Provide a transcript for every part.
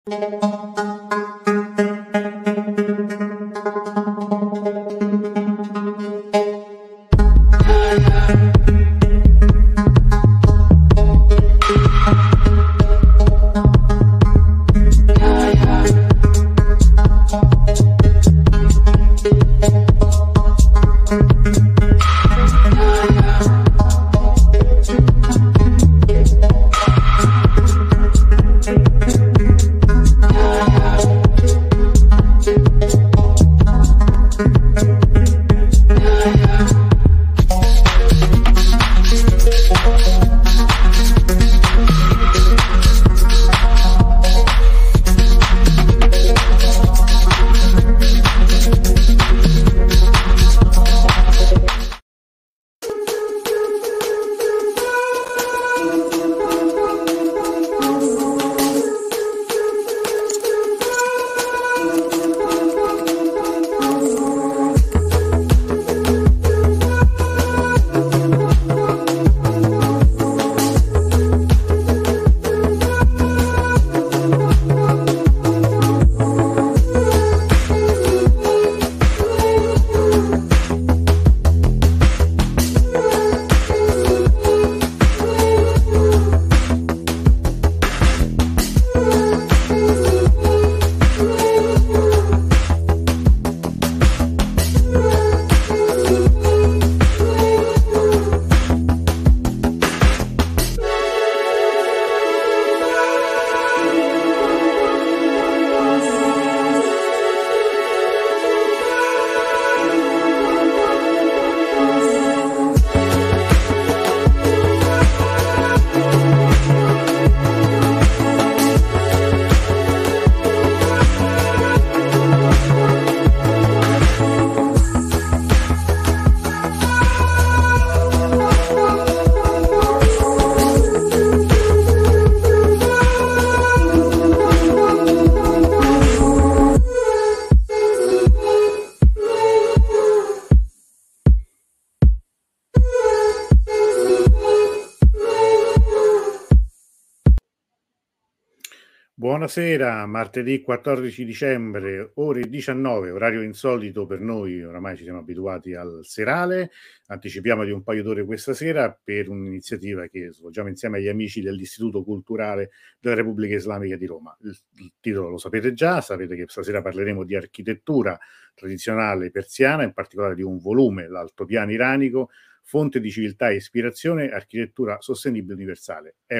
Buonasera, martedì 14 dicembre, ore 19, orario insolito per noi, oramai ci siamo abituati al serale, anticipiamo di un paio d'ore questa sera per un'iniziativa che svolgiamo insieme agli amici dell'Istituto Culturale della Repubblica Islamica di Roma. Il titolo lo sapete già, sapete che stasera parleremo di architettura tradizionale persiana, in particolare di un volume, l'Altopiano iranico, fonte di civiltà e ispirazione, architettura sostenibile universale. È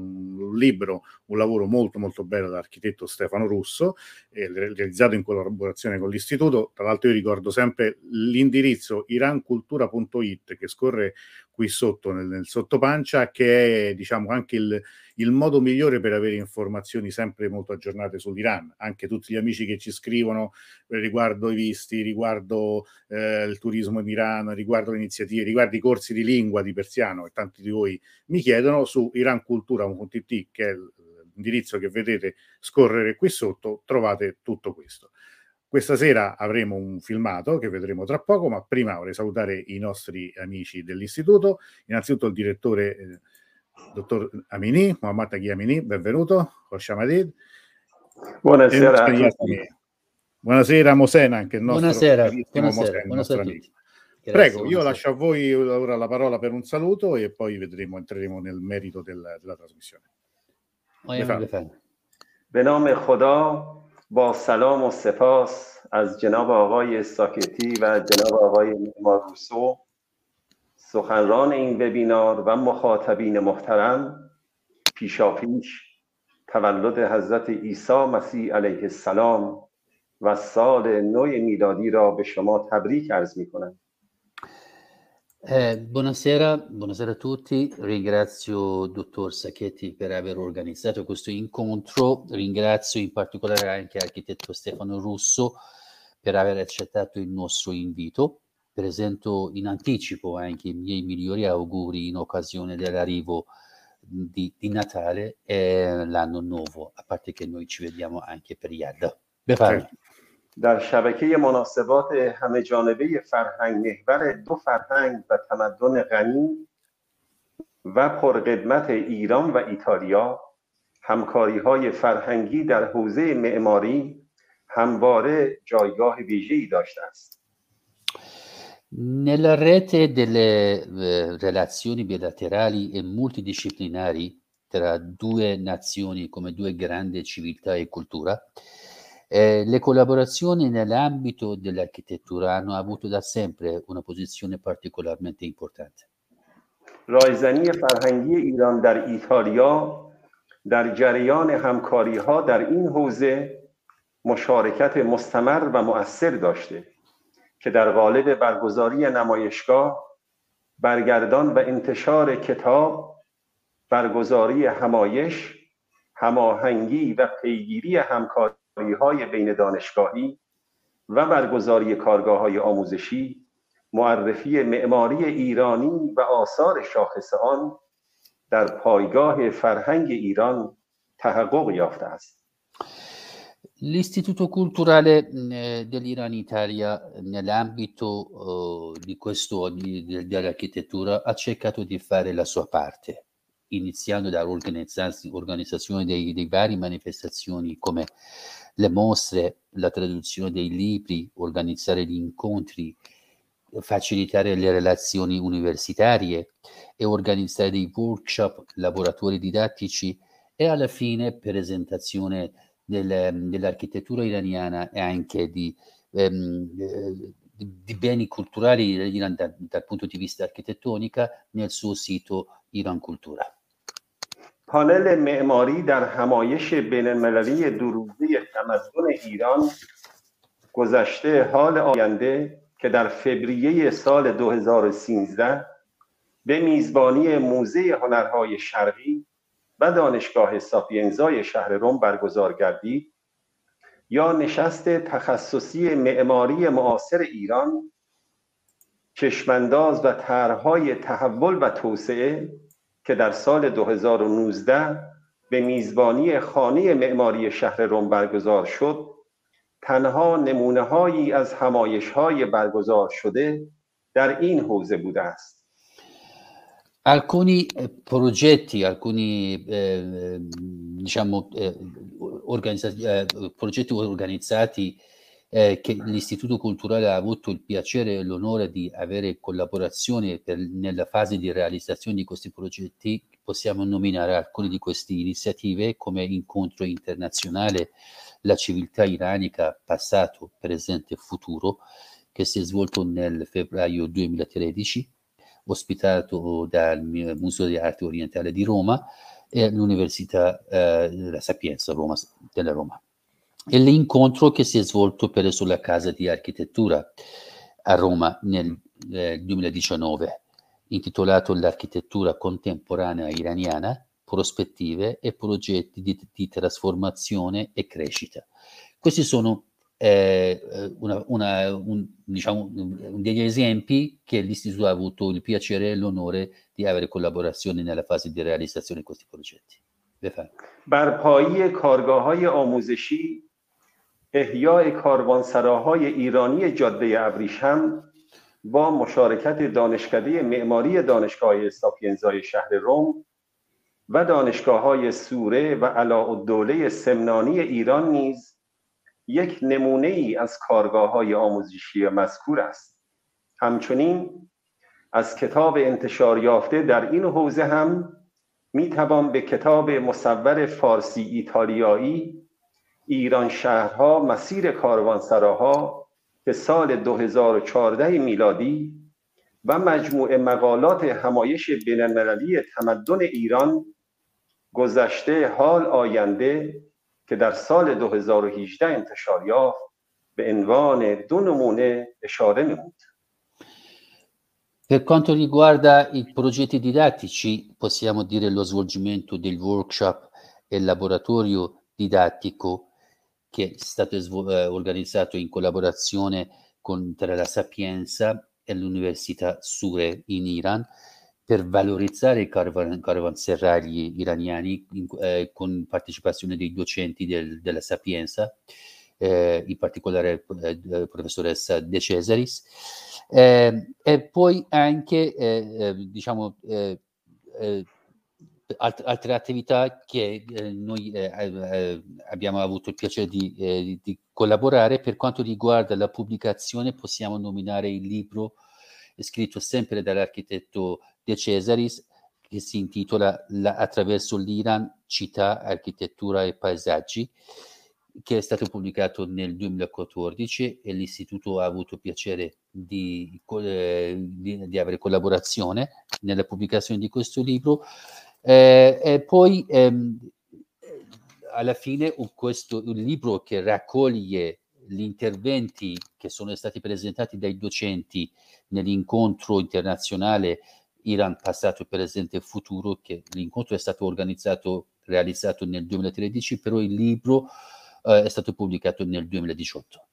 un libro, un lavoro molto molto bello dall'architetto Stefano Russo, realizzato in collaborazione con l'istituto. Tra l'altro io ricordo sempre l'indirizzo irancultura.it che scorre qui sotto nel sottopancia, che è diciamo anche il modo migliore per avere informazioni sempre molto aggiornate sull'Iran. Anche tutti gli amici che ci scrivono riguardo i visti, riguardo il turismo in Iran, riguardo le iniziative, riguardo i corsi di lingua di persiano, e tanti di voi mi chiedono, su irancultura.it, che è l'indirizzo che vedete scorrere qui sotto, trovate tutto questo. Questa sera avremo un filmato che vedremo tra poco, ma prima vorrei salutare i nostri amici dell'istituto, innanzitutto il direttore dottor Amini, Mohammad Taghi Amini, benvenuto, Khoshamadid. Buonasera a tutti. Buonasera Mosen, anche il nostro buonasera, Mosen, il nostro amico. Prego, io lascio a voi ora la parola per un saluto e poi entreremo nel merito della trasmissione. به نام خدا با سلام و سپاس از جناب آقای ساکتی و جناب آقای معمار روسو، سخنران این وبینار و مخاطبین محترم، پیشاپیش تولد حضرت عیسی مسیح علیه السلام و سال نو میلادی را به شما تبریک عرض می‌کنم. Buonasera a tutti, ringrazio il dottor Sacchetti per aver organizzato questo incontro, ringrazio in particolare anche l'architetto Stefano Russo per aver accettato il nostro invito. Presento in anticipo anche i miei migliori auguri in occasione dell'arrivo di Natale e l'anno nuovo, a parte che noi ci vediamo anche per Yad. بفرمایید. در شبکه مناسبات همه جانبه فرهنگ محور دو فرهنگ و تمدن غنی و پرقدمت ایران و ایتالیا، همکاری‌های فرهنگی در حوزه معماری همواره جایگاه ویژه‌ای داشته است. Nella rete delle relazioni bilaterali e multidisciplinari tra due nazioni come due grandi civiltà e cultura, le collaborazioni nell'ambito dell'architettura hanno avuto da sempre una posizione particolarmente importante. رایزنی فرهنگی ایران در ایتالیا در جریان همکاری‌ها در این حوزه مشارکت مستمر و مؤثر داشته که در قالب برگزاری نمایشگاه، برگردان و انتشار کتاب، برگزاری همایش، هماهنگی و پیگیری همکاری‌های بین دانشگاهی و برگزاری کارگاه‌های آموزشی، معرفی معماری ایرانی و آثار شاخص آن در پایگاه فرهنگ ایران تحقق یافته است. L'Istituto Culturale dell'Iran Italia nell'ambito di dell'architettura ha cercato di fare la sua parte, iniziando dall'organizzazione dei vari manifestazioni come le mostre, la traduzione dei libri, organizzare gli incontri, facilitare le relazioni universitarie e organizzare dei workshop, laboratori didattici e alla fine presentazione dell'architettura iraniana e anche di beni culturali dell'Iran dal punto di vista architettonica nel suo sito Iran Cultura. پانل معماری در همایش بین‌المللی دوروزه تمدن ایران گذشته حال آینده که در فوریه سال 2013 به میزبانی موزه هنرهای شرقی و دانشگاه ساپینزای شهر رم برگزار گردید یا نشست تخصصی معماری معاصر ایران چشمانداز و طرح‌های تحول و توسعه که در سال 2019 به میزبانی خانه معماری شهر رم برگزار شد تنها نمونه‌هایی از همایش‌های برگزار شده در این حوزه بوده است. Alcuni progetti, progetti organizzati che l'Istituto Culturale ha avuto il piacere e l'onore di avere collaborazioni nella fase di realizzazione di questi progetti, possiamo nominare alcune di queste iniziative come Incontro Internazionale La Civiltà Iranica Passato, Presente e Futuro, che si è svolto nel febbraio 2013, ospitato dal Museo di Arte Orientale di Roma e l'Università La Sapienza della Roma. E l'incontro che si è svolto presso la Casa di Architettura a Roma nel 2019, intitolato L'architettura contemporanea iraniana, prospettive e progetti di trasformazione e crescita. Questi sono degli esempi che l'Istituto ha avuto il piacere e l'onore di avere collaborazioni nella fase di realizzazione di questi progetti. برپایی کارگاه‌های آموزشی، احیای کاروانسراهای ایرانی جاده ابریشم با مشارکت دانشکده معماری دانشگاه ساپینزای شهر رم و دانشگاه‌های سوره و علاءالدوله سمنانی ایران نیز یک نمونه ای از کارگاه‌های آموزشی مذکور است. همچنین از کتاب انتشار یافته در این حوزه هم میتوان به کتاب مصور فارسی ایتالیایی ایران شهرها مسیر کاروانسراها که سال 2014 میلادی و مجموعه مقالات همایش بین‌المللی تمدن ایران گذشته حال آینده که در سال 2018 انتشار یافت به عنوان 2 نمونه اشاره نمود. Per quanto riguarda i progetti didattici, possiamo dire lo svolgimento del workshop e laboratorio didattico che è stato organizzato in collaborazione tra la Sapienza e l'Università Sure in Iran per valorizzare i caravanserragli iraniani con partecipazione dei docenti della Sapienza, in particolare professoressa De Cesaris, e poi anche altre attività che noi abbiamo avuto il piacere di collaborare. Per quanto riguarda la pubblicazione, possiamo nominare il libro scritto sempre dall'architetto De Cesaris, che si intitola Attraverso l'Iran, città, architettura e paesaggi, che è stato pubblicato nel 2014 e l'Istituto ha avuto piacere di avere collaborazione nella pubblicazione di questo libro. E poi alla fine un libro che raccoglie gli interventi che sono stati presentati dai docenti nell'incontro internazionale Iran passato, presente e futuro, che l'incontro è stato realizzato nel 2013, però il libro è stato pubblicato nel 2018.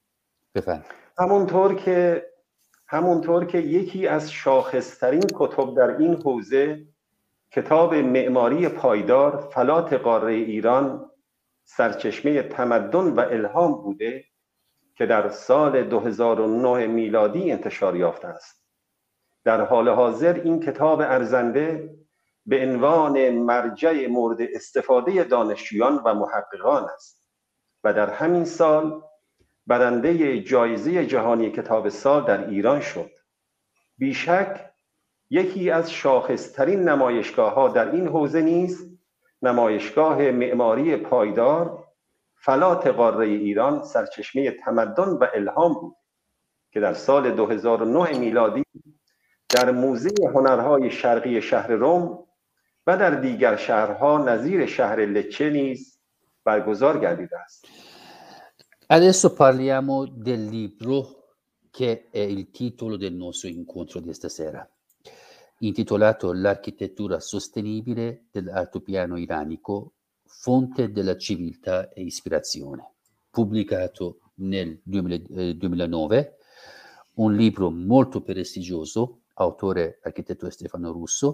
همونطور که یکی از شاخصترین کتب در این حوزه کتاب معماری پایدار فلات قاره ایران سرچشمه تمدن و الهام بوده که در سال 2009 میلادی انتشار یافته است. در حال حاضر این کتاب ارزنده به عنوان مرجع مورد استفاده دانشجویان و محققان است و در همین سال برنده جایزه جهانی کتاب سال در ایران شد. بیشک یکی از شاخصترین نمایشگاه‌ها در این حوزه نیز نمایشگاه معماری پایدار فلات قاره ایران سرچشمه تمدن و الهام بود که در سال 2009 میلادی در موزه هنرهای شرقی شهر روم و در دیگر شهرها نظیر شهر لچه نیز برگزار گردیده است. Adesso parliamo del libro che è il titolo del nostro incontro di stasera, intitolato L'architettura sostenibile dell'altopiano iranico, fonte della civiltà e ispirazione, pubblicato nel 2009, un libro molto prestigioso, autore architetto Stefano Russo,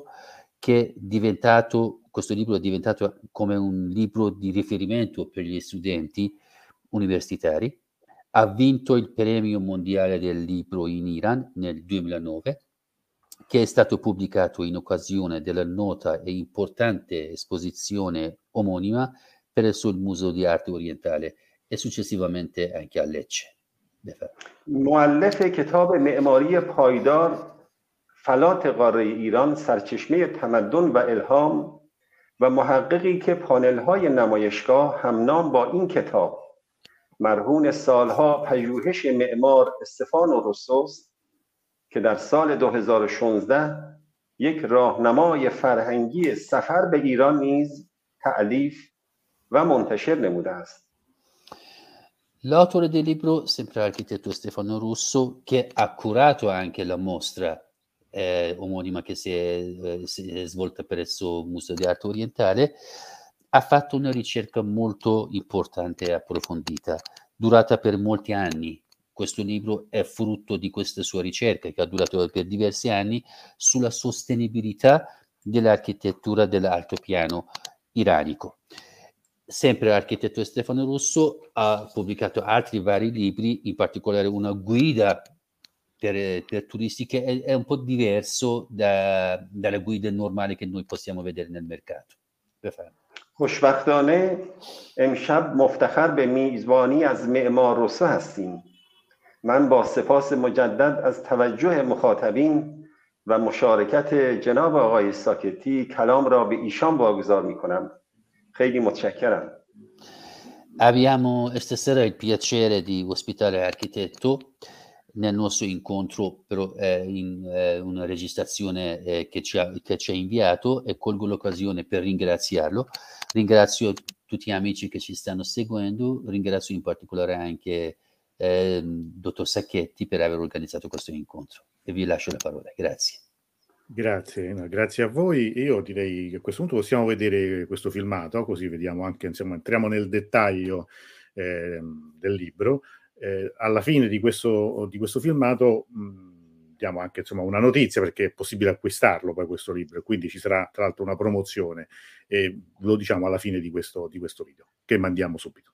questo libro è diventato come un libro di riferimento per gli studenti universitari. Ha vinto il premio mondiale del libro in Iran nel 2009, che è stato pubblicato in occasione della nota e importante esposizione omonima presso il Museo di Arte Orientale e successivamente anche a Lecce. مؤلف کتاب معماری پایدار فلات قاره ایران سرچشمه تمدن و الهام و محققی که پانل‌های نمایشگاه همنام با این کتاب مرهون سالها پژوهش معمار استفانو روسوست که در سال 2016 یک راهنمای فرهنگی سفر به ایران نیز تألیف و منتشر نموده است. L'autore del libro, sempre l'architetto Stefano Russo, che ha curato anche la mostra omonima che si è svolta presso il Museo di Arte Orientale, ha fatto una ricerca molto importante e approfondita, durata per molti anni. Questo libro è frutto di questa sua ricerca, che ha durato per diversi anni, sulla sostenibilità dell'architettura dell'altopiano iranico. Sempre l'architetto Stefano Russo ha pubblicato altri vari libri, in particolare una guida per turisti che è un po' diverso dalle guide normali che noi possiamo vedere nel mercato. خوشبختانه امشب مفتخر به میزبانی از معمار روسو هستیم. من با سپاس مجدد از توجه مخاطبین و مشارکت جناب آقای ساکتی کلام را به ایشان واگذار می‌کنم. خیلی متشکرم. Abbiamo stasera il piacere di ospitare l'architetto nel nostro incontro, però in una registrazione che ci ha inviato, e colgo l'occasione per ringraziarlo. Ringrazio tutti gli amici che ci stanno seguendo, ringrazio in particolare anche dottor Sacchetti per aver organizzato questo incontro e vi lascio la parola. Grazie. Grazie, no, grazie a voi. Io direi che a questo punto possiamo vedere questo filmato, così vediamo anche, insomma, entriamo nel dettaglio del libro. Alla fine di questo filmato diamo anche, insomma, una notizia, perché è possibile acquistarlo poi questo libro, quindi ci sarà tra l'altro una promozione, e lo diciamo alla fine di questo video che mandiamo subito.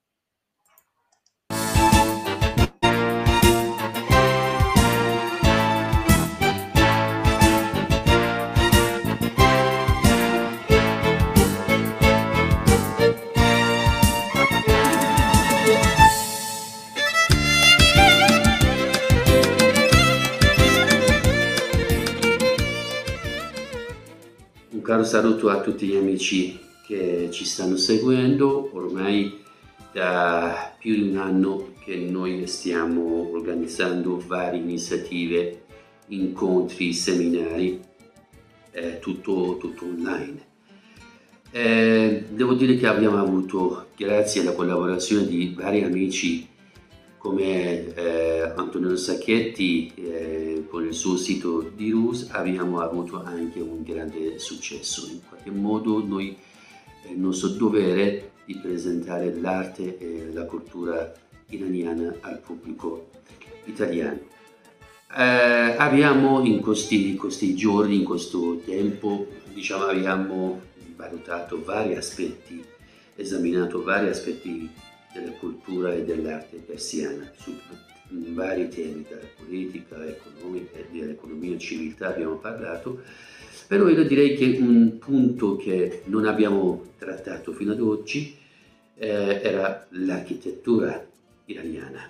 caro saluto a tutti gli amici che ci stanno seguendo. Ormai da più di un anno che noi stiamo organizzando varie iniziative, incontri, seminari, tutto online. Devo dire che abbiamo avuto, grazie alla collaborazione di vari amici come Antonio Sacchetti con il suo sito di Rus, abbiamo avuto anche un grande successo. In qualche modo noi è il nostro dovere di presentare l'arte e la cultura iraniana al pubblico italiano. Abbiamo in questi giorni, in questo tempo, diciamo, abbiamo valutato vari aspetti, esaminato vari aspetti della cultura e dell'arte persiana su vari temi, dalla politica, economica, dell'economia e civiltà abbiamo parlato, però io direi che un punto che non abbiamo trattato fino ad oggi era l'architettura iraniana.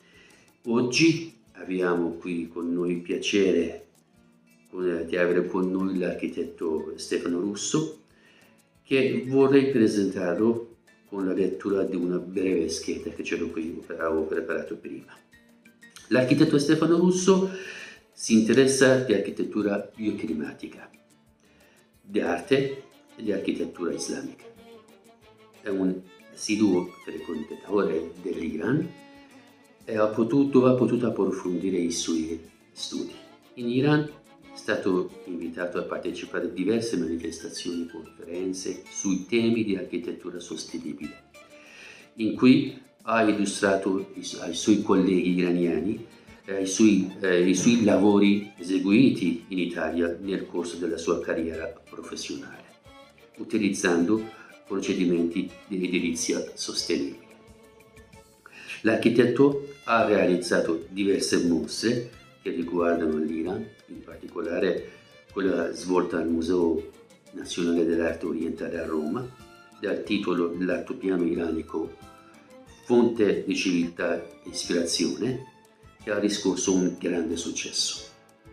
Oggi abbiamo qui con noi il piacere di avere con noi l'architetto Stefano Russo, che vorrei presentarlo con la lettura di una breve scheda che ce l'ho qui, avevo preparato prima. L'architetto Stefano Russo si interessa di architettura bioclimatica, di arte e di architettura islamica. È un assiduo frequentatore dell'Iran e ha potuto approfondire i suoi studi. In Iran è stato invitato a partecipare a diverse manifestazioni e conferenze sui temi di architettura sostenibile, in cui ha illustrato ai suoi colleghi iraniani i suoi lavori eseguiti in Italia nel corso della sua carriera professionale, utilizzando procedimenti di edilizia sostenibile. L'architetto ha realizzato diverse mostre che riguardano l'Iran, in particolare quella svolta al Museo Nazionale dell'Arte Orientale a Roma, dal titolo L'altopiano iranico, fonte di civiltà e ispirazione, che ha riscosso un grande successo.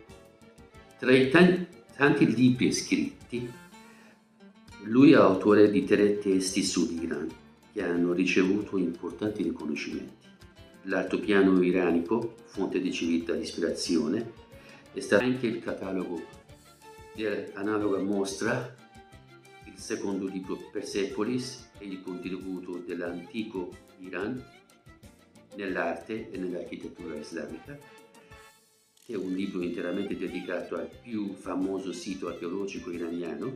Tra i tanti libri scritti, lui è autore di 3 testi sull'Iran che hanno ricevuto importanti riconoscimenti. L'altopiano iranico, fonte di civiltà e ispirazione, è stato anche il catalogo dell'analoga mostra, il secondo libro Persepolis e il contributo dell'antico Iran nell'arte e nell'architettura islamica, che è un libro interamente dedicato al più famoso sito archeologico iraniano,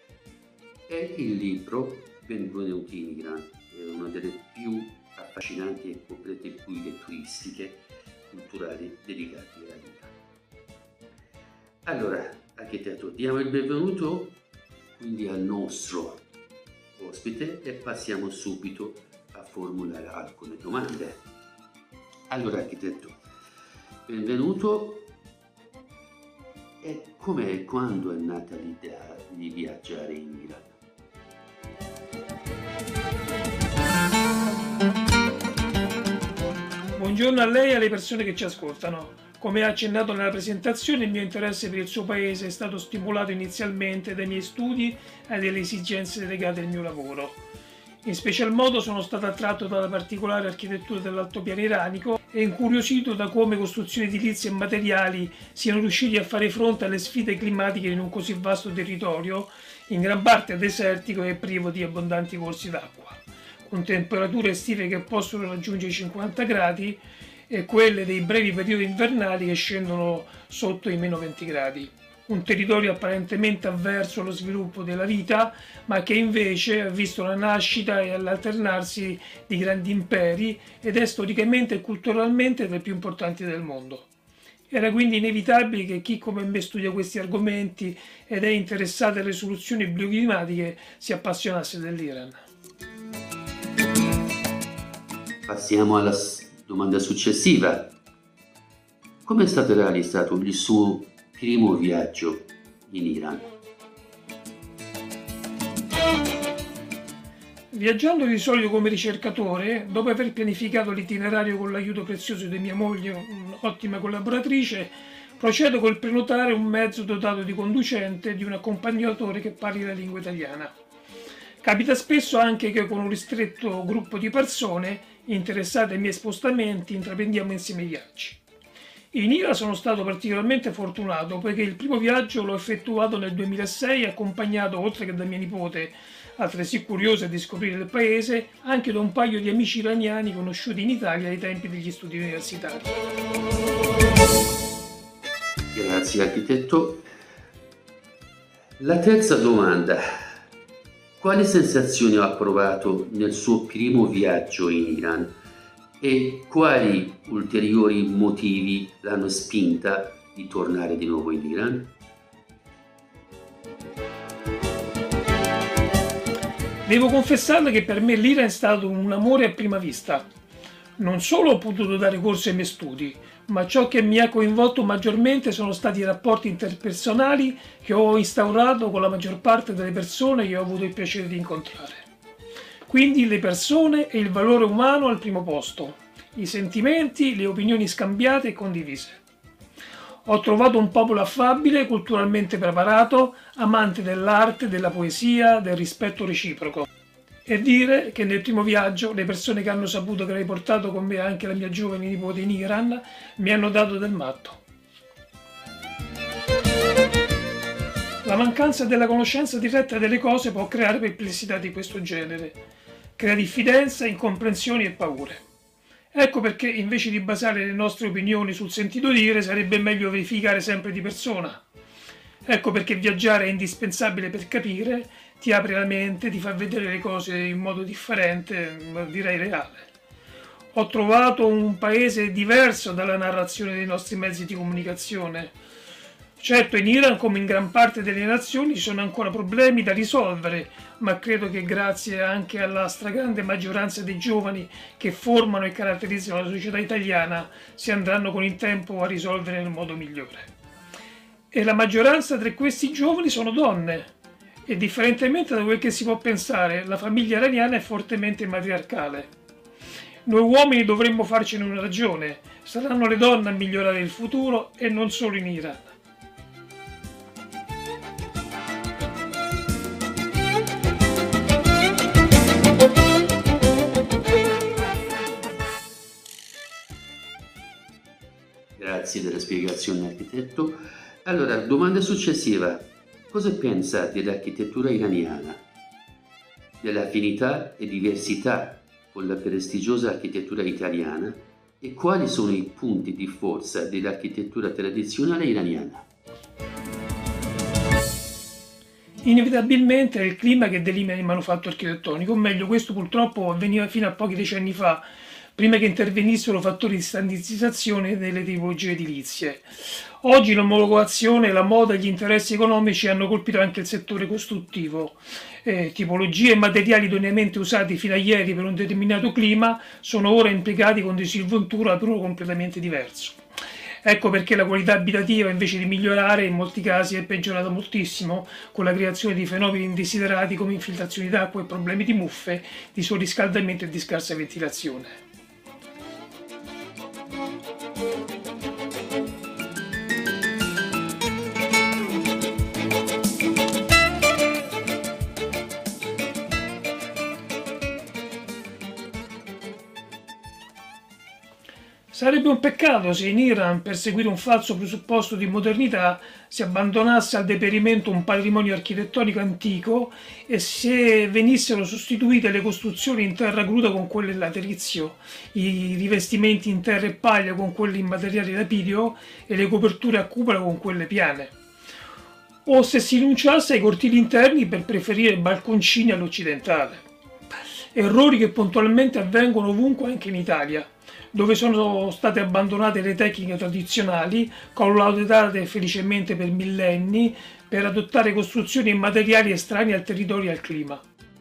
e il libro Benvenuti in Iran, è una delle più affascinanti e complete guide turistiche culturali dedicate all'Iran. Allora, architetto, diamo il benvenuto quindi al nostro ospite e passiamo subito a formulare alcune domande. Allora, architetto, benvenuto. E come e quando è nata l'idea di viaggiare in Iran? Buongiorno a lei e alle persone che ci ascoltano. Come ha accennato nella presentazione, il mio interesse per il suo paese è stato stimolato inizialmente dai miei studi e dalle esigenze legate al mio lavoro. In special modo sono stato attratto dalla particolare architettura dell'altopiano iranico e incuriosito da come costruzioni edilizie e materiali siano riusciti a fare fronte alle sfide climatiche in un così vasto territorio, in gran parte desertico e privo di abbondanti corsi d'acqua, con temperature estive che possono raggiungere i 50 gradi e quelle dei brevi periodi invernali che scendono sotto i meno 20 gradi. Un territorio apparentemente avverso allo sviluppo della vita, ma che invece ha visto la nascita e l'alternarsi di grandi imperi ed è storicamente e culturalmente tra i più importanti del mondo. Era quindi inevitabile che chi come me studia questi argomenti ed è interessato alle soluzioni bioclimatiche si appassionasse dell'Iran. Passiamo alla domanda successiva. Come è stato realizzato il suo primo viaggio in Iran? Viaggiando di solito come ricercatore, dopo aver pianificato l'itinerario con l'aiuto prezioso di mia moglie, un'ottima collaboratrice, Procedo col prenotare un mezzo dotato di conducente e di un accompagnatore che parli la lingua italiana. Capita spesso anche che con un ristretto gruppo di persone interessate ai miei spostamenti intraprendiamo insieme i viaggi. In Iran sono stato particolarmente fortunato poiché il primo viaggio l'ho effettuato nel 2006 accompagnato, oltre che da mia nipote, altresì curiosa di scoprire il paese, anche da un paio di amici iraniani conosciuti in Italia ai tempi degli studi universitari. Grazie architetto. La terza domanda. Quali sensazioni ha provato nel suo primo viaggio in Iran e quali ulteriori motivi l'hanno spinta di tornare di nuovo in Iran? Devo confessarle che per me l'Iran è stato un amore a prima vista. Non solo ho potuto dare corso ai miei studi, ma ciò che mi ha coinvolto maggiormente sono stati i rapporti interpersonali che ho instaurato con la maggior parte delle persone che ho avuto il piacere di incontrare. Quindi le persone e il valore umano al primo posto, i sentimenti, le opinioni scambiate e condivise. Ho trovato un popolo affabile, culturalmente preparato, amante dell'arte, della poesia, del rispetto reciproco. E dire che nel primo viaggio le persone che hanno saputo che avrei portato con me anche la mia giovane nipote in Iran mi hanno dato del matto. La mancanza della conoscenza diretta delle cose può creare perplessità di questo genere, crea diffidenza, incomprensioni e paure. Ecco perché invece di basare le nostre opinioni sul sentito dire sarebbe meglio verificare sempre di persona. Ecco perché viaggiare è indispensabile per capire, ti apre la mente, ti fa vedere le cose in modo differente, direi reale. Ho trovato un paese diverso dalla narrazione dei nostri mezzi di comunicazione. Certo, in Iran, come in gran parte delle nazioni, ci sono ancora problemi da risolvere, ma credo che grazie anche alla stragrande maggioranza dei giovani che formano e caratterizzano la società italiana, si andranno con il tempo a risolvere nel modo migliore. E la maggioranza tra questi giovani sono donne. E differentemente da quel che si può pensare, la famiglia iraniana è fortemente matriarcale. Noi uomini dovremmo farcene una ragione. Saranno le donne a migliorare il futuro e non solo in Iran. Grazie della spiegazione, architetto. Allora, domanda successiva. Cosa pensa dell'architettura iraniana, delle affinità e diversità con la prestigiosa architettura italiana e quali sono i punti di forza dell'architettura tradizionale iraniana? Inevitabilmente è il clima che delimita il manufatto architettonico, o meglio, questo purtroppo avveniva fino a pochi decenni fa, prima che intervenissero fattori di standardizzazione delle tipologie edilizie. Oggi l'omologazione, la moda e gli interessi economici hanno colpito anche il settore costruttivo. Tipologie e materiali idoneamente usati fino a ieri per un determinato clima sono ora impiegati con disinvoltura però completamente diverso. Ecco perché la qualità abitativa, invece di migliorare, in molti casi è peggiorata moltissimo, con la creazione di fenomeni indesiderati come infiltrazioni d'acqua e problemi di muffe, di surriscaldamento e di scarsa ventilazione. Sarebbe un peccato se in Iran, per seguire un falso presupposto di modernità, si abbandonasse al deperimento un patrimonio architettonico antico e se venissero sostituite le costruzioni in terra cruda con quelle in laterizio, i rivestimenti in terra e paglia con quelli in materiale lapidio e le coperture a cupola con quelle piane. O se si rinunciasse ai cortili interni per preferire balconcini all'occidentale. Errori che puntualmente avvengono ovunque, anche in Italia, dove sono state abbandonate le tecniche tradizionali, collaudate felicemente per millenni, per adottare costruzioni e materiali estranei al territorio e al clima.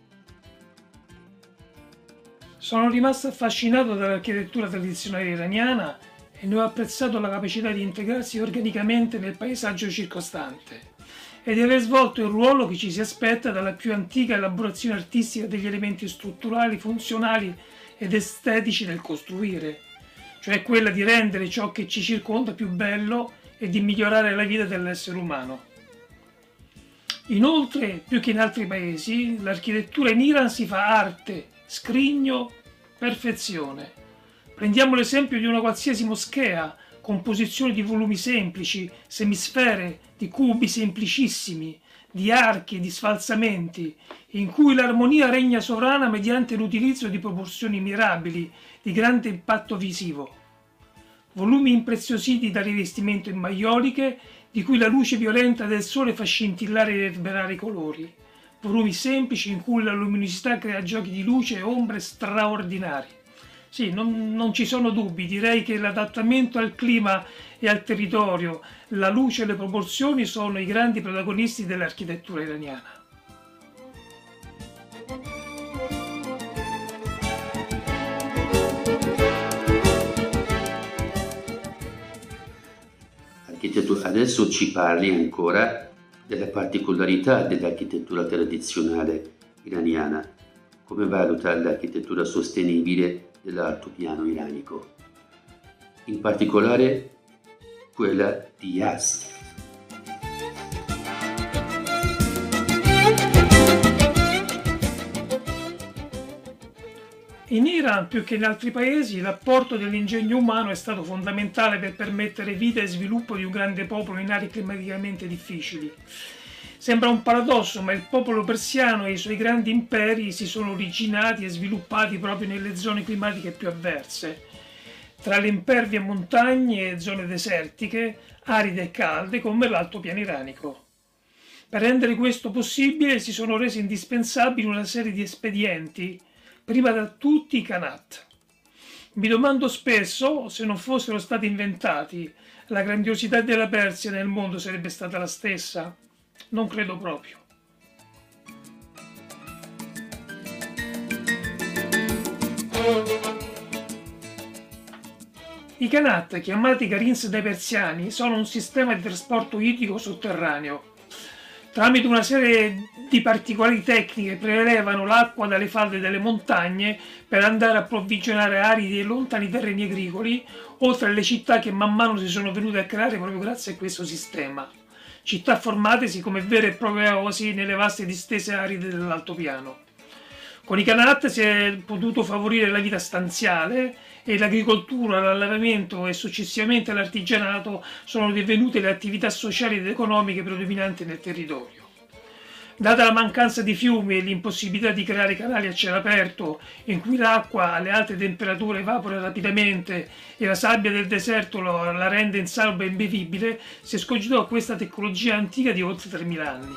Sono rimasto affascinato dall'architettura tradizionale iraniana e ne ho apprezzato la capacità di integrarsi organicamente nel paesaggio circostante e di aver svolto il ruolo che ci si aspetta dalla più antica elaborazione artistica degli elementi strutturali, funzionali ed estetici del costruire, cioè quella di rendere ciò che ci circonda più bello e di migliorare la vita dell'essere umano. Inoltre, più che in altri paesi, l'architettura in Iran si fa arte, scrigno, perfezione. Prendiamo l'esempio di una qualsiasi moschea, composizione di volumi semplici, semisfere, di cubi semplicissimi, di archi e di sfalsamenti, in cui l'armonia regna sovrana mediante l'utilizzo di proporzioni mirabili, di grande impatto visivo. Volumi impreziositi da rivestimento in maioliche, di cui la luce violenta del sole fa scintillare e riverberare i colori. Volumi semplici in cui la luminosità crea giochi di luce e ombre straordinari. Sì, non ci sono dubbi, direi che l'adattamento al clima e al territorio, la luce e le proporzioni sono i grandi protagonisti dell'architettura iraniana. Adesso ci parli ancora della particolarità dell'architettura tradizionale iraniana. Come valuta l'architettura sostenibile dell'altopiano iranico, in particolare quella di Yazd. In Iran, più che in altri paesi, l'apporto dell'ingegno umano è stato fondamentale per permettere vita e sviluppo di un grande popolo in aree climaticamente difficili. Sembra un paradosso, ma il popolo persiano e i suoi grandi imperi si sono originati e sviluppati proprio nelle zone climatiche più avverse, tra le impervie montagne e zone desertiche, aride e calde come l'altopiano iranico. Per rendere questo possibile si sono resi indispensabili una serie di espedienti, prima da tutti i Qanat. Mi domando spesso, se non fossero stati inventati, la grandiosità della Persia nel mondo sarebbe stata la stessa? Non credo proprio. I Qanat, chiamati Qarins dai persiani, sono un sistema di trasporto idrico sotterraneo. Tramite una serie di particolari tecniche prelevano l'acqua dalle falde delle montagne per andare a approvvigionare aridi e lontani terreni agricoli, oltre alle città che man mano si sono venute a creare proprio grazie a questo sistema. Città formatesi come vere e proprie oasi nelle vaste distese aride dell'altopiano. Con i Qanat si è potuto favorire la vita stanziale e l'agricoltura, l'allevamento e successivamente l'artigianato sono divenute le attività sociali ed economiche predominanti nel territorio. Data la mancanza di fiumi e l'impossibilità di creare canali a cielo aperto in cui l'acqua alle alte temperature evapora rapidamente e la sabbia del deserto la rende insalubre e imbevibile, si escogitò questa tecnologia antica di oltre 3.000 anni.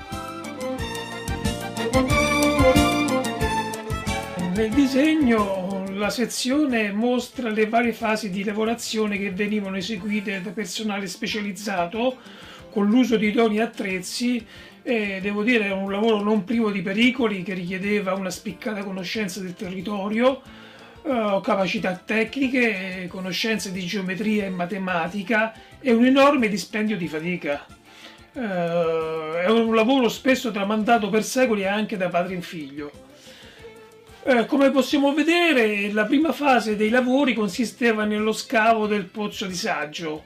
Nel disegno la sezione mostra le varie fasi di lavorazione che venivano eseguite da personale specializzato con l'uso di idonei attrezzi e devo dire era un lavoro non privo di pericoli che richiedeva una spiccata conoscenza del territorio, capacità tecniche, conoscenze di geometria e matematica e un enorme dispendio di fatica. È un lavoro spesso tramandato per secoli anche da padre in figlio. Come possiamo vedere, la prima fase dei lavori consisteva nello scavo del pozzo di saggio,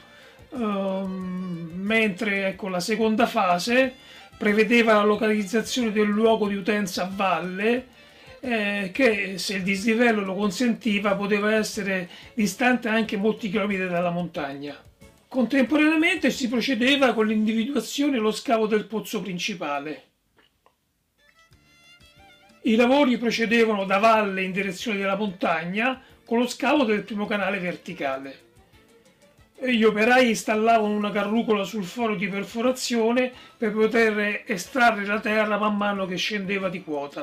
mentre la seconda fase prevedeva la localizzazione del luogo di utenza a valle, che se il dislivello lo consentiva poteva essere distante anche molti chilometri dalla montagna. Contemporaneamente si procedeva con l'individuazione e lo scavo del pozzo principale. I lavori procedevano da valle in direzione della montagna con lo scavo del primo canale verticale. Gli operai installavano una carrucola sul foro di perforazione per poter estrarre la terra man mano che scendeva di quota.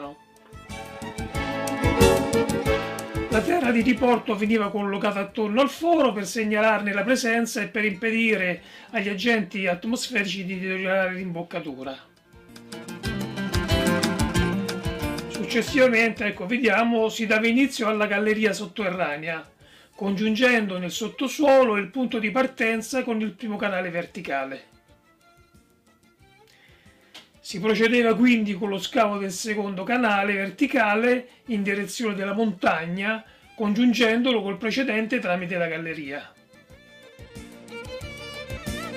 La terra di riporto veniva collocata attorno al foro per segnalarne la presenza e per impedire agli agenti atmosferici di deteriorare l'imboccatura. Successivamente, vediamo, si dava inizio alla galleria sotterranea, congiungendo nel sottosuolo il punto di partenza con il primo canale verticale. Si procedeva quindi con lo scavo del secondo canale verticale in direzione della montagna, congiungendolo col precedente tramite la galleria.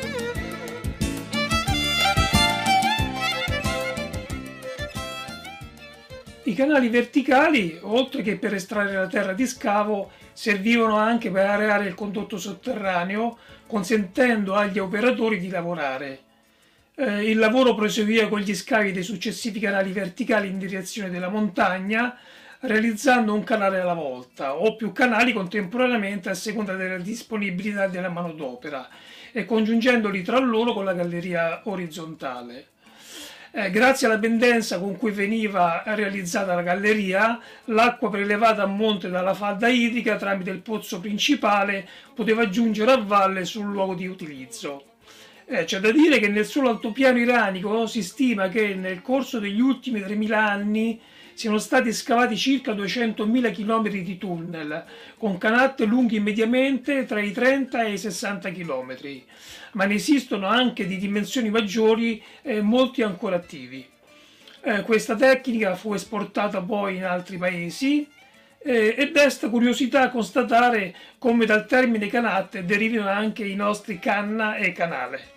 I canali verticali, oltre che per estrarre la terra di scavo, servivano anche per areare il condotto sotterraneo, consentendo agli operatori di lavorare. Il lavoro proseguiva con gli scavi dei successivi canali verticali in direzione della montagna, realizzando un canale alla volta o più canali contemporaneamente a seconda della disponibilità della manodopera e congiungendoli tra loro con la galleria orizzontale. Grazie alla pendenza con cui veniva realizzata la galleria, l'acqua prelevata a monte dalla falda idrica tramite il pozzo principale poteva giungere a valle sul luogo di utilizzo. C'è da dire che nel solo altopiano iranico si stima che nel corso degli ultimi 3.000 anni siano stati scavati circa 200.000 km di tunnel, con canate lunghi mediamente tra i 30 e i 60 km, ma ne esistono anche di dimensioni maggiori e molti ancora attivi. Questa tecnica fu esportata poi in altri paesi e desta curiosità constatare come dal termine canate derivino anche i nostri canna e canale.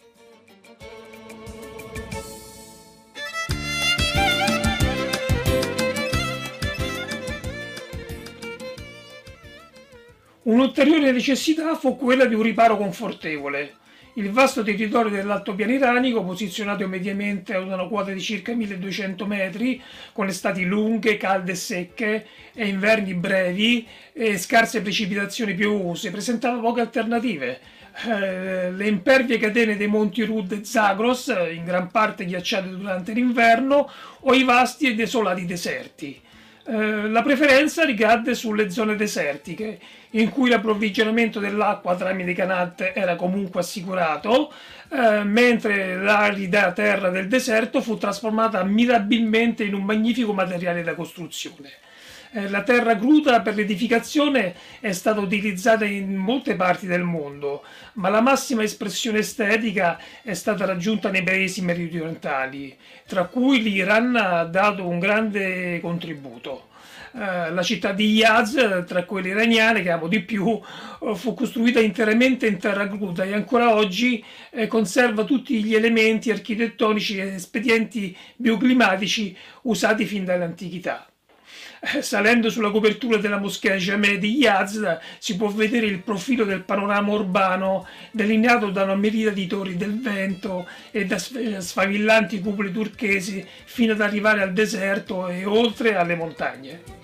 Un'ulteriore necessità fu quella di un riparo confortevole. Il vasto territorio dell'altopiano iranico, posizionato mediamente ad una quota di circa 1200 metri, con estati lunghe, calde e secche, e inverni brevi e scarse precipitazioni piovose, presentava poche alternative. Le impervie catene dei monti Rud e Zagros, in gran parte ghiacciate durante l'inverno, o i vasti e desolati deserti. La preferenza ricadde sulle zone desertiche, in cui l'approvvigionamento dell'acqua tramite canate era comunque assicurato, mentre l'arida terra del deserto fu trasformata mirabilmente in un magnifico materiale da costruzione. La terra cruda per l'edificazione è stata utilizzata in molte parti del mondo, ma la massima espressione estetica è stata raggiunta nei paesi meridionali, tra cui l'Iran ha dato un grande contributo. La città di Yazd, tra quelle iraniane che amo di più, fu costruita interamente in terra cruda e ancora oggi conserva tutti gli elementi architettonici e espedienti bioclimatici usati fin dall'antichità. Salendo sulla copertura della moschea Jameh di Yazd si può vedere il profilo del panorama urbano delineato da una miriade di torri del vento e da sfavillanti cupole turchesi fino ad arrivare al deserto e oltre alle montagne.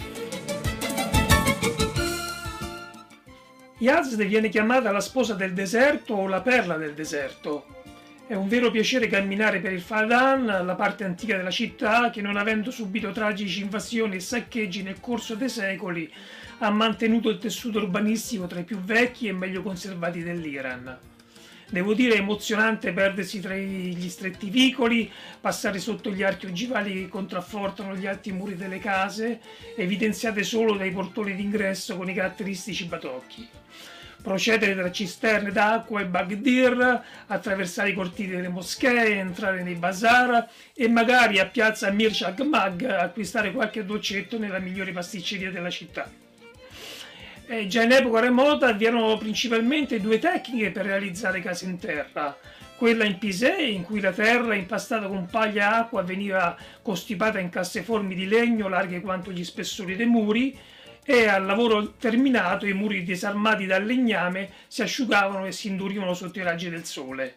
Yazd viene chiamata la sposa del deserto o la perla del deserto. È un vero piacere camminare per il Fadan, la parte antica della città che, non avendo subito tragici invasioni e saccheggi nel corso dei secoli, ha mantenuto il tessuto urbanistico tra i più vecchi e meglio conservati dell'Iran. Devo dire, è emozionante perdersi tra gli stretti vicoli, passare sotto gli archi ogivali che contraffortano gli alti muri delle case, evidenziate solo dai portoni d'ingresso con i caratteristici batocchi. Procedere tra cisterne d'acqua e bagdir, attraversare i cortili delle moschee, entrare nei bazar e magari a piazza Mir Chagmag acquistare qualche dolcetto nella migliore pasticceria della città. Già in epoca remota vi erano principalmente due tecniche per realizzare case in terra. Quella in pisé, in cui la terra impastata con paglia e acqua veniva costipata in casseformi di legno larghe quanto gli spessori dei muri, e al lavoro terminato i muri disarmati dal legname si asciugavano e si indurivano sotto i raggi del sole.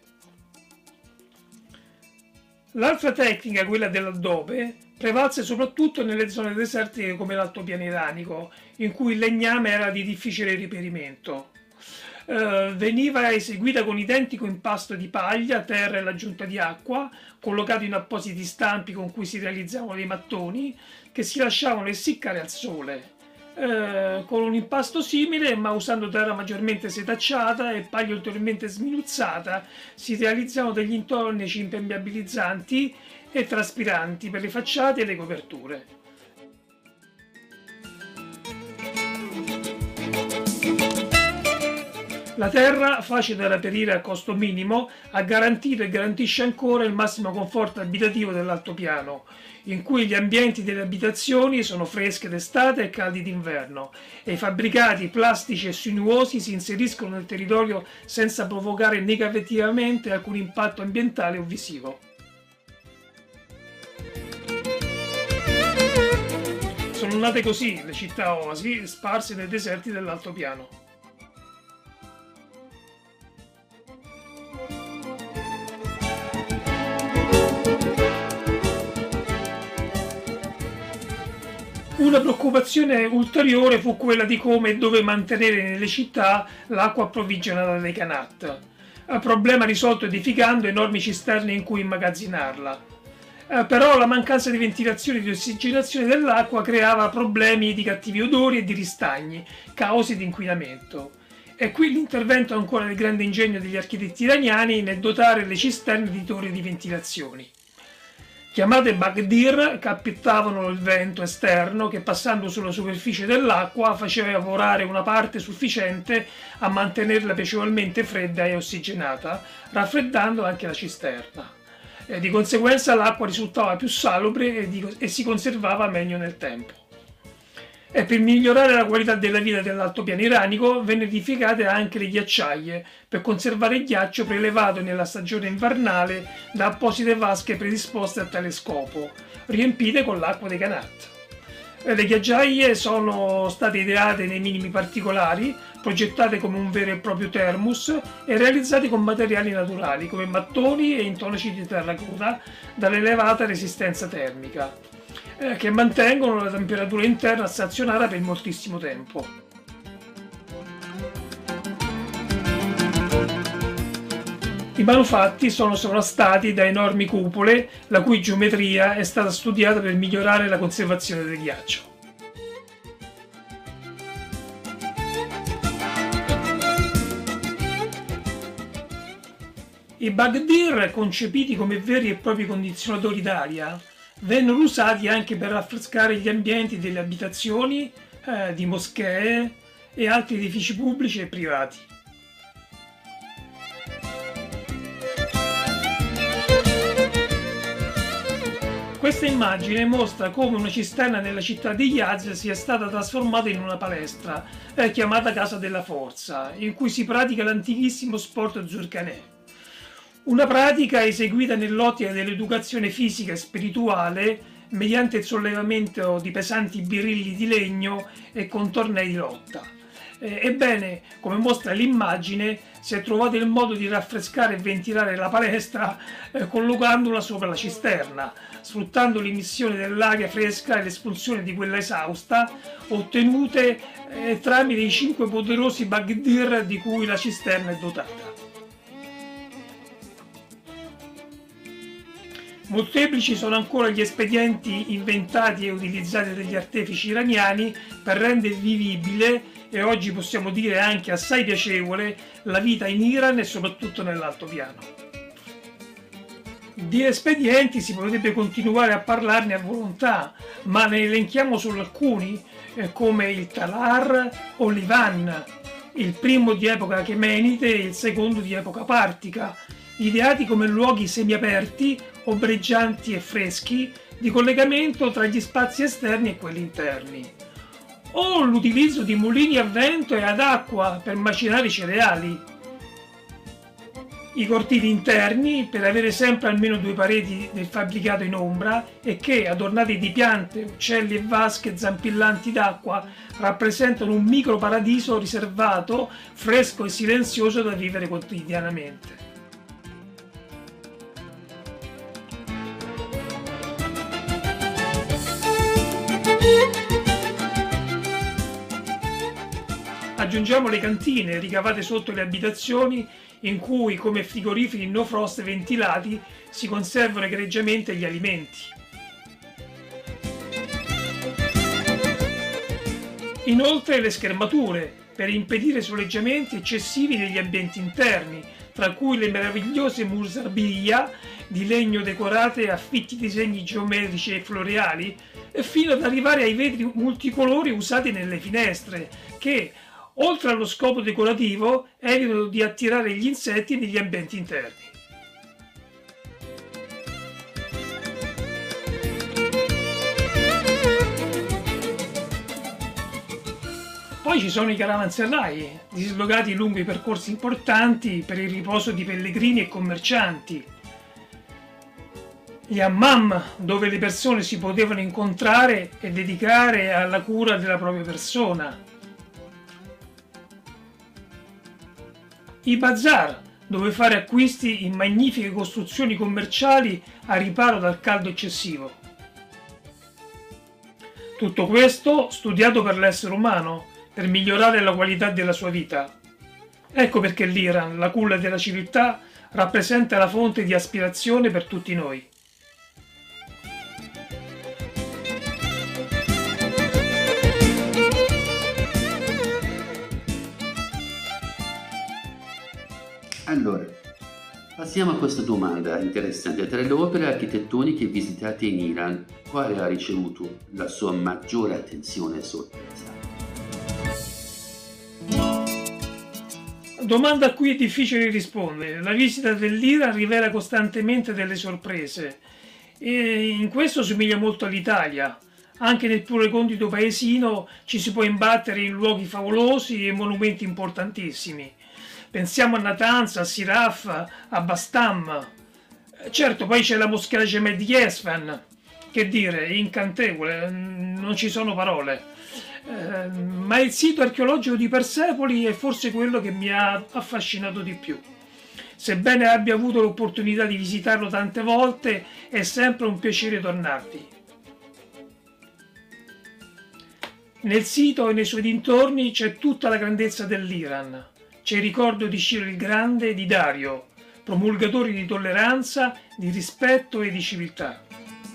L'altra tecnica, quella dell'addobe, prevalse soprattutto nelle zone desertiche come l'altopiano iranico, in cui il legname era di difficile reperimento. Veniva eseguita con identico impasto di paglia, terra e l'aggiunta di acqua, collocato in appositi stampi con cui si realizzavano dei mattoni che si lasciavano essiccare al sole. Con un impasto simile, ma usando terra maggiormente setacciata e paglia ulteriormente sminuzzata, si realizzano degli intornici impermeabilizzanti e traspiranti per le facciate e le coperture. La terra, facile da reperire a costo minimo, ha garantito e garantisce ancora il massimo conforto abitativo dell'altopiano, in cui gli ambienti delle abitazioni sono fresche d'estate e caldi d'inverno, e i fabbricati plastici e sinuosi si inseriscono nel territorio senza provocare negativamente alcun impatto ambientale o visivo. nate così le città oasi sparse nei deserti dell'altopiano. Una preoccupazione ulteriore fu quella di come e dove mantenere nelle città l'acqua approvvigionata dai Qanat, problema risolto edificando enormi cisterne in cui immagazzinarla. Però la mancanza di ventilazione e di ossigenazione dell'acqua creava problemi di cattivi odori e di ristagni, cause di inquinamento. E qui l'intervento ancora del grande ingegno degli architetti iraniani nel dotare le cisterne di torri di ventilazioni. Chiamate Bagdir, captavano il vento esterno che, passando sulla superficie dell'acqua, faceva evaporare una parte sufficiente a mantenerla piacevolmente fredda e ossigenata, raffreddando anche la cisterna. Di conseguenza l'acqua risultava più salubre e si conservava meglio nel tempo. E per migliorare la qualità della vita dell'altopiano iranico venne edificate anche le ghiacciaie per conservare il ghiaccio prelevato nella stagione invernale da apposite vasche predisposte a tale scopo, riempite con l'acqua dei Qanat. Le ghiacciaie sono state ideate nei minimi particolari, progettate come un vero e proprio thermos e realizzate con materiali naturali come mattoni e intonaci di terracotta dall'elevata resistenza termica, che mantengono la temperatura interna stazionata per moltissimo tempo. I manufatti sono sovrastati da enormi cupole, la cui geometria è stata studiata per migliorare la conservazione del ghiaccio. I Bagdir, concepiti come veri e propri condizionatori d'aria, vennero usati anche per raffrescare gli ambienti delle abitazioni, di moschee e altri edifici pubblici e privati. Questa immagine mostra come una cisterna nella città di Yazd sia stata trasformata in una palestra, chiamata Casa della Forza, in cui si pratica l'antichissimo sport Zurkhaneh. Una pratica eseguita nell'ottica dell'educazione fisica e spirituale mediante il sollevamento di pesanti birilli di legno e con tornei di lotta. Ebbene, come mostra l'immagine, si è trovato il modo di raffrescare e ventilare la palestra collocandola sopra la cisterna, sfruttando l'emissione dell'aria fresca e l'espulsione di quella esausta, ottenute tramite i 5 poderosi Bagdir di cui la cisterna è dotata. Molteplici sono ancora gli espedienti inventati e utilizzati dagli artefici iraniani per rendere vivibile, e oggi possiamo dire anche assai piacevole, la vita in Iran e soprattutto nell'altopiano. Di espedienti si potrebbe continuare a parlarne a volontà, ma ne elenchiamo solo alcuni, come il Talar o l'Ivan, il primo di epoca achemenide e il secondo di epoca partica, ideati come luoghi semiaperti, ombreggianti e freschi, di collegamento tra gli spazi esterni e quelli interni, o l'utilizzo di mulini a vento e ad acqua per macinare i cereali, i cortili interni per avere sempre almeno 2 pareti del fabbricato in ombra e che, adornati di piante, uccelli e vasche zampillanti d'acqua, rappresentano un micro paradiso riservato, fresco e silenzioso da vivere quotidianamente. Aggiungiamo le cantine ricavate sotto le abitazioni in cui, come frigoriferi no frost ventilati, si conservano egregiamente gli alimenti. Inoltre le schermature, per impedire soleggiamenti eccessivi negli ambienti interni, tra cui le meravigliose musarbia di legno decorate a fitti disegni geometrici e floreali, fino ad arrivare ai vetri multicolori usati nelle finestre, che, oltre allo scopo decorativo, evitano di attirare gli insetti negli ambienti interni. Poi ci sono i caravanserrai, dislocati lungo i percorsi importanti per il riposo di pellegrini e commercianti. gli hammam, dove le persone si potevano incontrare e dedicare alla cura della propria persona, i bazar, dove fare acquisti in magnifiche costruzioni commerciali a riparo dal caldo eccessivo. Tutto questo studiato per l'essere umano, per migliorare la qualità della sua vita. Ecco perché l'Iran, la culla della civiltà, rappresenta la fonte di aspirazione per tutti noi. Allora, passiamo a questa domanda interessante. Tra le opere architettoniche visitate in Iran, quale ha ricevuto la sua maggiore attenzione e sorpresa? Domanda a cui è difficile rispondere. La visita dell'Iran rivela costantemente delle sorprese e in questo somiglia molto all'Italia. Anche nel più recondito paesino ci si può imbattere in luoghi favolosi e monumenti importantissimi. Pensiamo a Natanz, a Siraf, a Bastam. Certo, poi c'è la moschea Gemed di Esfahan, che dire, incantevole, non ci sono parole. Ma il sito archeologico di Persepoli è forse quello che mi ha affascinato di più. Sebbene abbia avuto l'opportunità di visitarlo tante volte, è sempre un piacere tornarvi. Nel sito e nei suoi dintorni c'è tutta la grandezza dell'Iran. C'è il ricordo di Ciro il Grande e di Dario, promulgatori di tolleranza, di rispetto e di civiltà.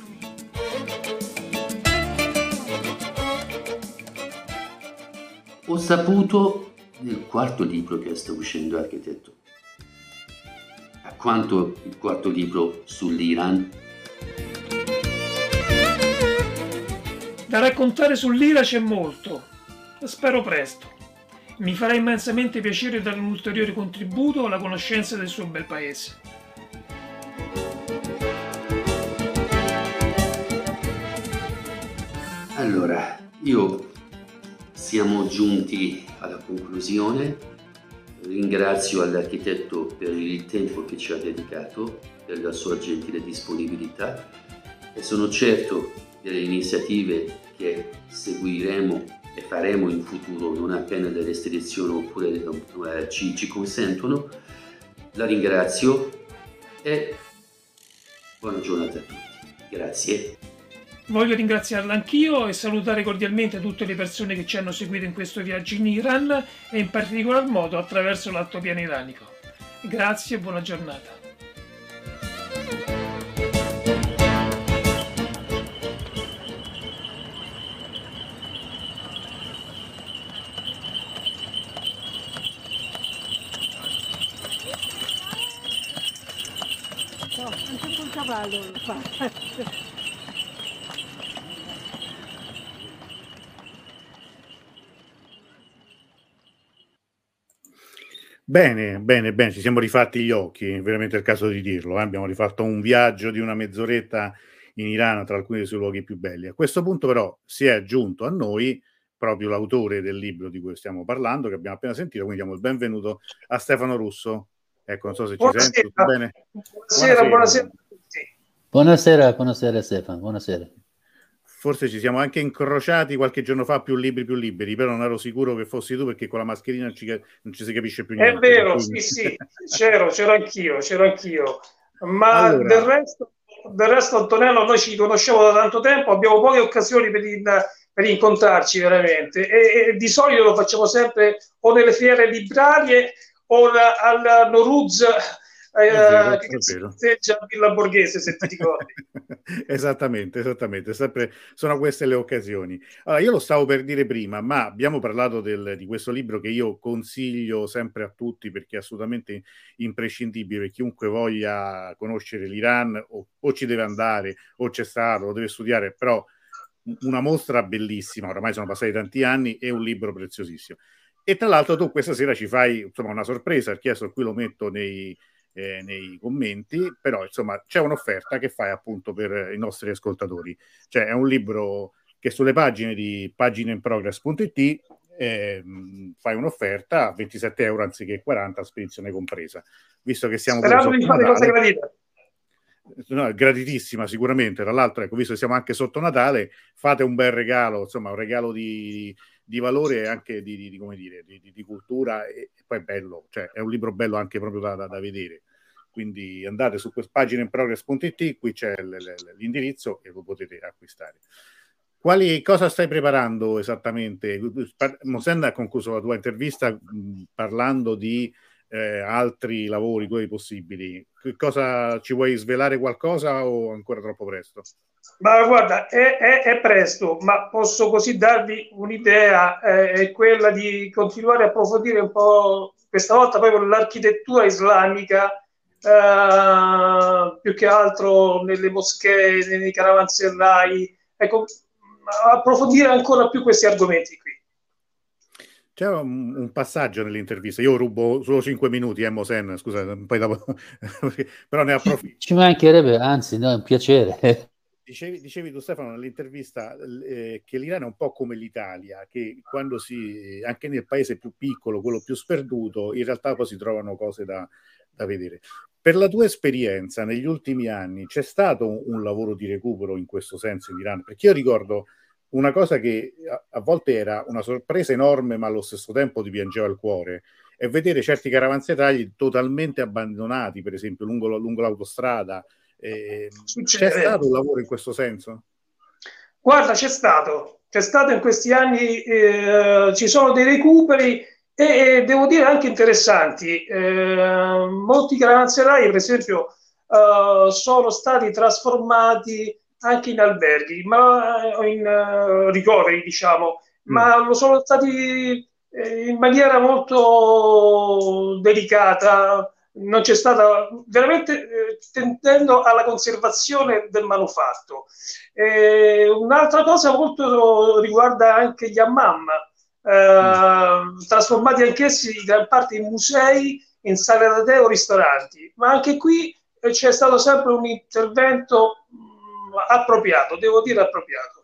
Ho saputo nel quarto libro che sta uscendo, architetto. A quanto il quarto libro sull'Iran? Da raccontare sull'Iran c'è molto. Spero presto. Mi farà immensamente piacere dare un ulteriore contributo alla conoscenza del suo bel paese. Allora, siamo giunti alla conclusione. Ringrazio all'architetto per il tempo che ci ha dedicato, per la sua gentile disponibilità e sono certo delle iniziative che seguiremo e faremo in futuro non appena le restrizioni oppure ci consentono. La ringrazio e buona giornata a tutti. Grazie. Voglio ringraziarla anch'io e salutare cordialmente tutte le persone che ci hanno seguito in questo viaggio in Iran e in particolar modo attraverso l'altopiano iranico. Grazie e buona giornata. Anche col cavallo lo fa. Bene, bene, bene, ci siamo rifatti gli occhi, veramente è il caso di dirlo. Abbiamo rifatto un viaggio di una mezz'oretta in Iran tra alcuni dei suoi luoghi più belli. A questo punto però si è aggiunto a noi proprio l'autore del libro di cui stiamo parlando, che abbiamo appena sentito, quindi diamo il benvenuto a Stefano Russo. Ecco, non so se ci senti, tutto bene? Buonasera a tutti. Buonasera Stefano, buonasera. Forse ci siamo anche incrociati qualche giorno fa, più liberi, però non ero sicuro che fossi tu perché con la mascherina non ci si capisce più niente. È vero, quindi... sì, c'ero anch'io. Ma allora... del resto Antonello, noi ci conosciamo da tanto tempo, abbiamo poche occasioni per incontrarci veramente e di solito lo facciamo sempre o nelle fiere librarie o al Noruz che si festeggia a Villa Borghese, se ti ricordi. Esattamente, sempre sono queste le occasioni. Allora, io lo stavo per dire prima, ma abbiamo parlato di questo libro che io consiglio sempre a tutti perché è assolutamente imprescindibile per chiunque voglia conoscere l'Iran o ci deve andare o c'è stato, lo deve studiare, però una mostra bellissima, oramai sono passati tanti anni, e un libro preziosissimo. E tra l'altro tu questa sera ci fai insomma una sorpresa, il chiesto qui lo metto nei commenti, però insomma c'è un'offerta che fai appunto per i nostri ascoltatori, cioè è un libro che sulle pagine di pagineinprogress.it fai un'offerta a 27 euro anziché 40, spedizione compresa, visto che siamo sperando di fare cose gradite. No, gratitissima sicuramente. Tra l'altro, ecco, visto che siamo anche sotto Natale, fate un bel regalo, insomma, un regalo di valore e anche come dire, di cultura, e poi è bello, cioè è un libro bello anche proprio da vedere. Quindi andate su questa pagina inprogress.it, qui c'è l'indirizzo e lo potete acquistare. Cosa stai preparando esattamente? Mosen ha concluso la tua intervista parlando di altri lavori tuoi possibili. Cosa ci vuoi svelare, qualcosa o ancora troppo presto? Ma guarda, è presto, ma posso così darvi un'idea, è quella di continuare a approfondire un po', questa volta proprio l'architettura islamica, più che altro nelle moschee, nei caravanserrai, ecco, approfondire ancora più questi argomenti qui. C'è un passaggio nell'intervista, io rubo solo 5 minuti, Mosen, scusa, poi dopo però ne approfitto. Ci mancherebbe, anzi, no, è un piacere. Dicevi tu, Stefano, nell'intervista che l'Iran è un po' come l'Italia, che quando anche nel paese più piccolo, quello più sperduto, in realtà poi si trovano cose da vedere. Per la tua esperienza negli ultimi anni c'è stato un lavoro di recupero in questo senso in Iran? Perché io ricordo una cosa che a volte era una sorpresa enorme, ma allo stesso tempo ti piangeva il cuore, è vedere certi caravanseragli totalmente abbandonati, per esempio lungo l'autostrada. C'è stato un lavoro in questo senso? Guarda, c'è stato in questi anni, ci sono dei recuperi e devo dire anche interessanti. Molti caravanserai, per esempio, sono stati trasformati anche in alberghi, ma in ricoveri, diciamo, ma lo sono stati in maniera molto delicata. Non c'è stata veramente tendendo alla conservazione del manufatto. Un'altra cosa molto riguarda anche gli hammam, trasformati anch'essi in gran parte in musei, in sale da tè o ristoranti, ma anche qui c'è stato sempre un intervento appropriato, devo dire appropriato.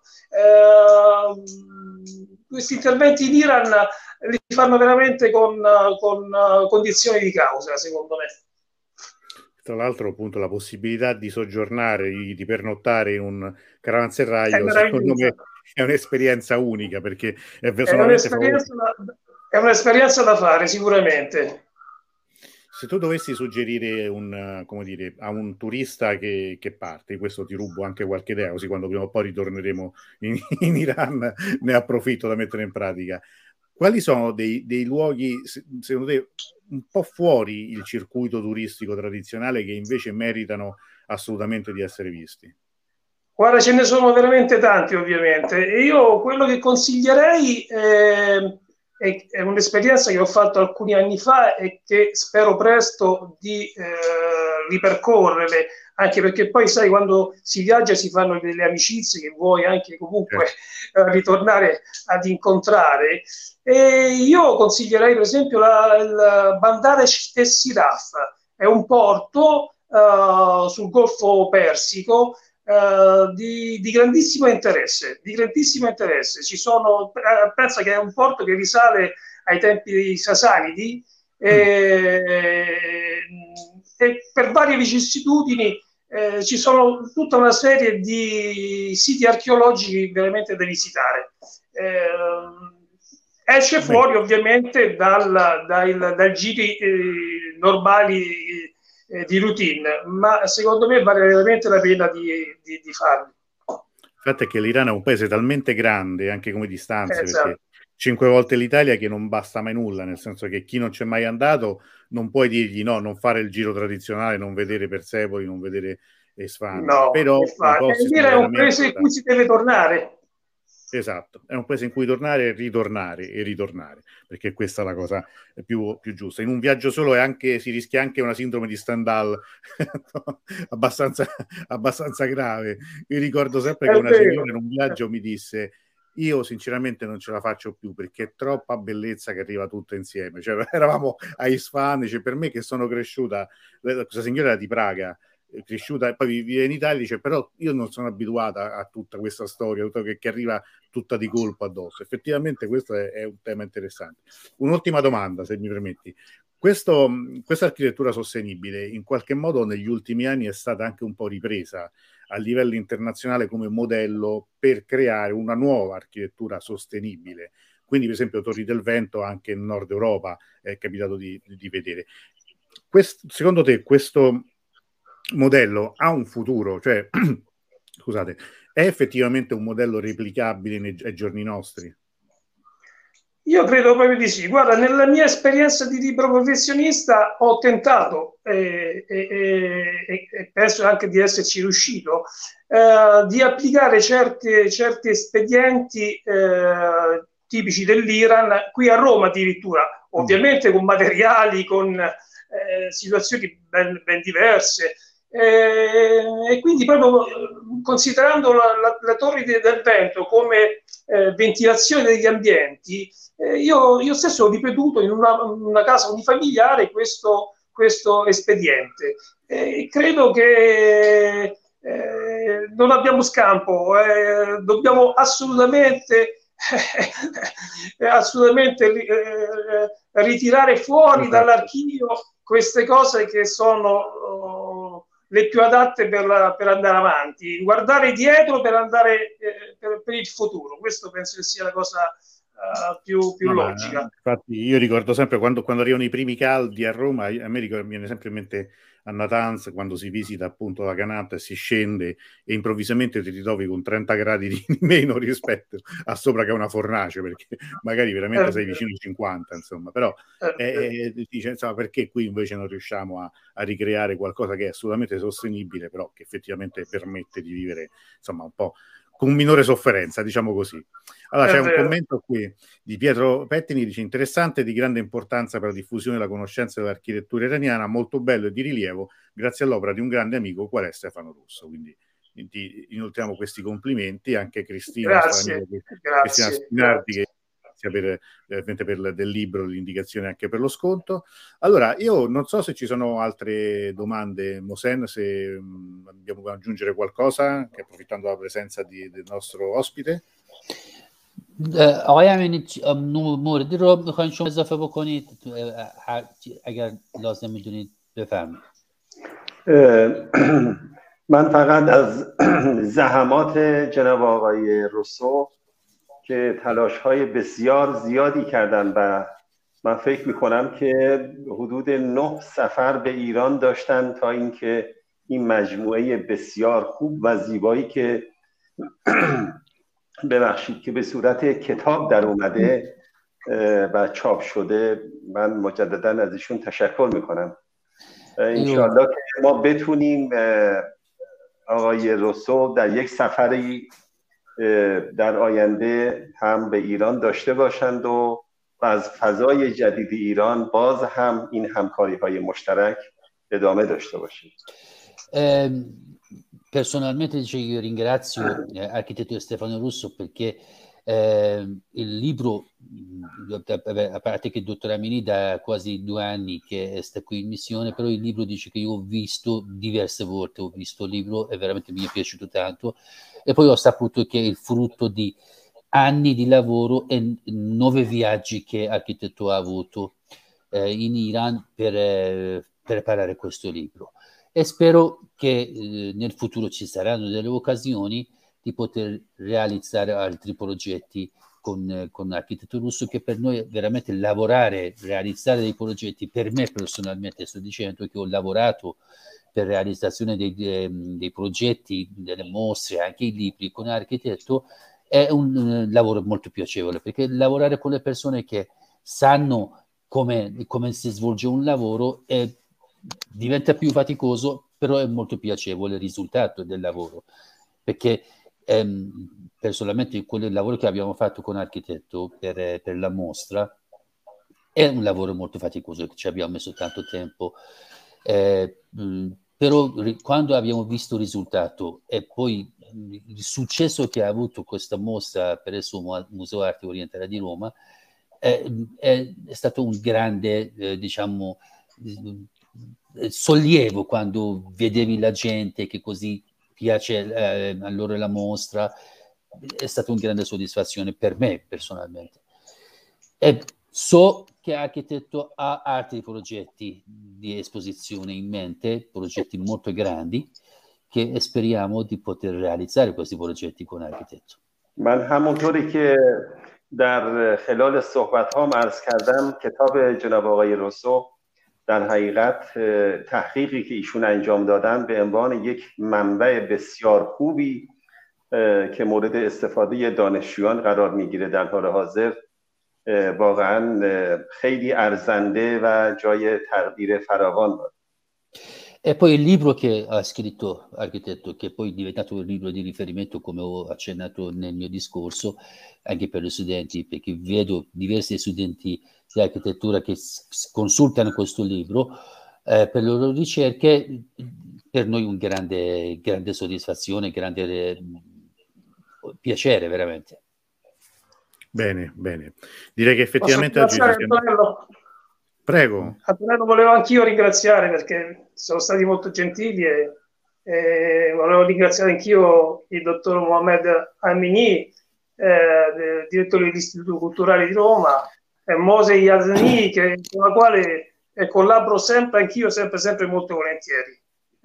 Questi interventi in Iran li fanno veramente con condizioni di causa, secondo me. Tra l'altro, appunto, la possibilità di soggiornare, di pernottare in un caravanserraglio, secondo me è un'esperienza unica, perché è un'esperienza da fare, sicuramente. Se tu dovessi suggerire a un turista che parte, questo ti rubo anche qualche idea, così quando prima o poi ritorneremo in Iran ne approfitto da mettere in pratica. Quali sono dei luoghi, secondo te, un po' fuori il circuito turistico tradizionale che invece meritano assolutamente di essere visti? Guarda, ce ne sono veramente tanti, ovviamente. E io quello che consiglierei è un'esperienza che ho fatto alcuni anni fa e che spero presto di ripercorrere, anche perché poi sai, quando si viaggia si fanno delle amicizie che vuoi anche comunque ritornare ad incontrare. E io consiglierei per esempio il Bandar es-Siraf, è un porto sul Golfo Persico di grandissimo interesse, Ci sono, penso che è un porto che risale ai tempi sasanidi e per varie vicissitudini ci sono tutta una serie di siti archeologici veramente da visitare. Esce fuori ovviamente dai giri normali di routine, ma secondo me vale veramente la pena di farli. Il fatto è che l'Iran è un paese talmente grande anche come distanze, perché 5 volte l'Italia, che non basta mai nulla, nel senso che chi non c'è mai andato non puoi dirgli no, non fare il giro tradizionale, non vedere Persepoli, non vedere Esfahani. No, però è un paese in cui si deve tornare. Esatto, è un paese in cui tornare, ritornare, perché questa è la cosa più giusta. In un viaggio solo si rischia anche una sindrome di Stendhal abbastanza grave. Io ricordo sempre che una signora in un viaggio mi disse: io sinceramente non ce la faccio più perché è troppa bellezza che arriva tutta insieme. Cioè, eravamo a Isfahan, per me che sono cresciuta, questa signora era di Praga, cresciuta e poi vive in Italia, dice però io non sono abituata a tutta questa storia che arriva tutta di colpo addosso. Effettivamente questo è un tema interessante. Un'ultima domanda, se mi permetti: questa architettura sostenibile in qualche modo negli ultimi anni è stata anche un po' ripresa a livello internazionale come modello per creare una nuova architettura sostenibile. Quindi, per esempio, Torri del Vento anche in Nord Europa è capitato di vedere. Secondo te questo modello ha un futuro? Cioè, scusate, è effettivamente un modello replicabile ai giorni nostri? Io credo proprio di sì. Guarda, nella mia esperienza di libero professionista ho tentato e penso anche di esserci riuscito di applicare certi espedienti tipici dell'Iran qui a Roma addirittura, ovviamente con materiali, con situazioni ben diverse. E quindi proprio considerando la Torre del Vento come ventilazione degli ambienti, io stesso ho ripetuto in una casa unifamiliare questo espediente. Credo che non abbiamo scampo, dobbiamo assolutamente ritirare fuori dall'archivio queste cose che sono le più adatte per andare avanti, guardare dietro per andare per il futuro. Questo penso che sia la cosa più logica. Infatti io ricordo sempre quando arrivano i primi caldi a Roma, a me viene sempre in mente a Natanz, quando si visita appunto la Canata e si scende e improvvisamente ti ritrovi con 30 gradi di meno rispetto a sopra che è una fornace, perché magari veramente sei vicino ai 50, insomma, però dice, insomma, perché qui invece non riusciamo a ricreare qualcosa che è assolutamente sostenibile, però che effettivamente permette di vivere, insomma, un po' con minore sofferenza, diciamo così. Allora c'è un commento qui di Pietro Pettini, dice: interessante, di grande importanza per la diffusione della conoscenza dell'architettura iraniana, molto bello e di rilievo, grazie all'opera di un grande amico qual è Stefano Russo. Quindi ti inoltriamo questi complimenti, anche Cristina, grazie. Cristina Spinardi, che per del libro, l'indicazione anche per lo sconto. Allora, io non so se ci sono altre domande, Mosen, se abbiamo da aggiungere qualcosa, che approfittando della presenza del nostro ospite. آقای امینی موردی رو میخواین شما اضافه بکنید اگر لازم میدونید بفرمایید. من فقط از زحمات جناب آقای روسو که تلاش‌های بسیار زیادی کردن و من فکر می‌کنم که حدود 9 سفر به ایران داشتن تا اینکه این مجموعه بسیار خوب و زیبایی که ببخشید که به صورت کتاب در اومده و چاپ شده، من مجددا از ایشون تشکر می‌کنم. انشالله که ما بتونیم آقای روسو در یک سفری در آینده هم به ایران داشته باشند و از فضای جدید ایران باز هم این همکاری‌های مشترک ادامه داشته باشیم. Personalmente io ringrazio architetto Stefano Russo perché il libro, a parte che il dottor Amini da quasi 2 anni che sta qui in missione, però il libro dice che io ho visto diverse volte, ho visto il libro e veramente mi è piaciuto tanto, e poi ho saputo che è il frutto di anni di lavoro e 9 viaggi che l'architetto ha avuto in Iran per preparare questo libro. E spero che nel futuro ci saranno delle occasioni di poter realizzare altri progetti con l'architetto Russo, che per noi veramente realizzare dei progetti, per me personalmente sto dicendo che ho lavorato per realizzazione dei progetti, delle mostre, anche i libri con l'architetto, è un lavoro molto piacevole, perché lavorare con le persone che sanno come si svolge un lavoro diventa più faticoso, però è molto piacevole il risultato del lavoro, perché personalmente quel lavoro che abbiamo fatto con l'architetto per la mostra è un lavoro molto faticoso, ci abbiamo messo tanto tempo, però quando abbiamo visto il risultato e poi il successo che ha avuto questa mostra presso il Museo Arte Orientale di Roma è stato un grande diciamo sollievo quando vedevi la gente che così piace a loro la mostra. È stata una grande soddisfazione per me personalmente. E So che Architetto ha altri progetti di esposizione in mente, progetti molto grandi, che speriamo di poter realizzare questi progetti con Architetto. من همونطوری که در خلال صحبت ها عرض کردم، کتاب جناب آقای روسو در حقیقت تحقیقی که ایشون انجام دادن به عنوان یک منبع بسیار خوبی که مورد استفاده دانشجویان قرار میگیره در حال حاضر واقعا خیلی ارزنده و جای تقدیر فراوان داره. E poi il libro che ha scritto Architetto, che poi è diventato un libro di riferimento, come ho accennato nel mio discorso, anche per gli studenti, perché vedo diversi studenti di architettura che consultano questo libro per le loro ricerche. Per noi un grande soddisfazione, grande piacere veramente. Bene, bene. Direi che effettivamente oggi Prego. Antonello, volevo anch'io ringraziare perché sono stati molto gentili e volevo ringraziare anch'io il dottor Mohamed Amini, direttore dell'Istituto Culturale di Roma, e Mose Yazni, con la quale collaboro sempre anch'io, sempre molto volentieri.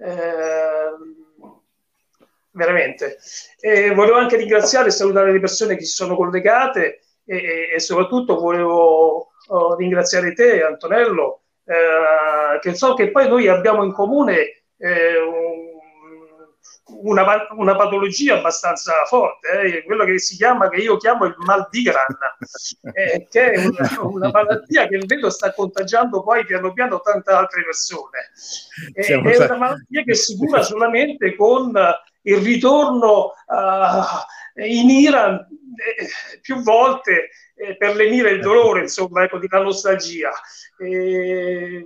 Veramente. E volevo anche ringraziare e salutare le persone che si sono collegate e soprattutto volevo ringraziare te, Antonello, che so che poi noi abbiamo in comune una patologia abbastanza forte, quello che io chiamo il mal di grana, che è una malattia che vedo sta contagiando poi piano piano tante altre persone. È una malattia che si cura solamente con il ritorno in Iran più volte per lenire il dolore, insomma, ecco, di la nostalgia. Ed